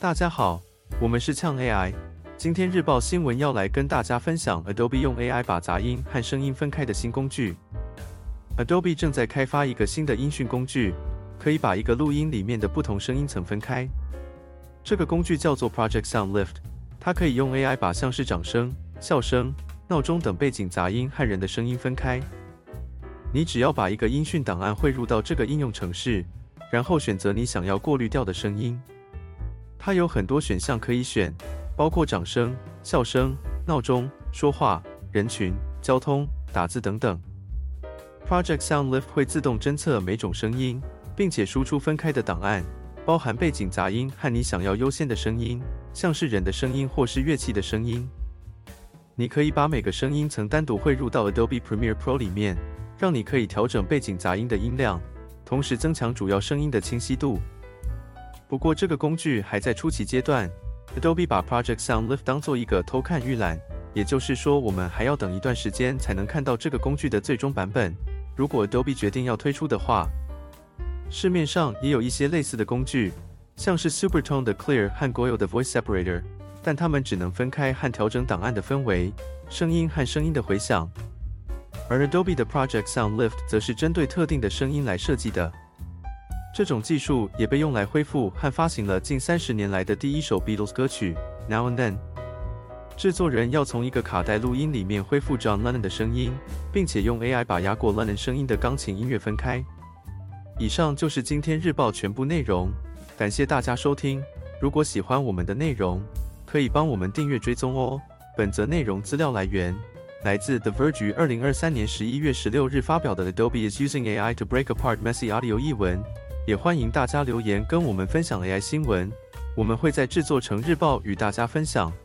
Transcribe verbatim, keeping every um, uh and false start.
大家好，我们是呛 A I。今天日报新闻要来跟大家分享 Adobe 用 A I 把杂音和声音分开的新工具。Adobe 正在开发一个新的音讯工具，可以把一个录音里面的不同声音层分开。这个工具叫做 Project Sound Lift， 它可以用 A I 把像是掌声、笑声、闹钟等背景杂音和人的声音分开。你只要把一个音讯档案汇入到这个应用程式，然后选择你想要过滤掉的声音。它有很多选项可以选，包括掌声、笑声、闹钟、说话、人群、交通、打字等等。Project Sound Lift 会自动侦测每种声音，并且输出分开的档案，包含背景杂音和你想要优先的声音，像是人的声音或是乐器的声音。你可以把每个声音层单独汇入到 Adobe Premiere Pro 里面，让你可以调整背景杂音的音量，同时增强主要声音的清晰度。不过这个工具还在初期阶段 ，Adobe 把 Project Sound Lift 当做一个偷看预览，也就是说我们还要等一段时间才能看到这个工具的最终版本。如果 Adobe 决定要推出的话，市面上也有一些类似的工具，像是 Supertone 的 Clear 和 Goyo 的 Voice Separator， 但它们只能分开和调整档案的氛围、声音和声音的回响。而 Adobe 的 Project Sound Lift 则是针对特定的声音来设计的。这种技术也被用来恢复和发行了近三十年来的第一首 Beatles 歌曲 Now and Then。制作人要从一个卡带录音里面恢复 John Lennon 的声音，并且用 A I 把压过 Lennon 声音的钢琴音乐分开。以上就是今天日报全部内容，感谢大家收听。如果喜欢我们的内容，可以帮我们订阅追踪哦。本则内容资料来源来自 The Verge 于二零二三年十一月十六日发表的 Adobe is using A I to break apart messy audio 译文。也欢迎大家留言跟我们分享 A I 新闻，我们会在制作成日报与大家分享。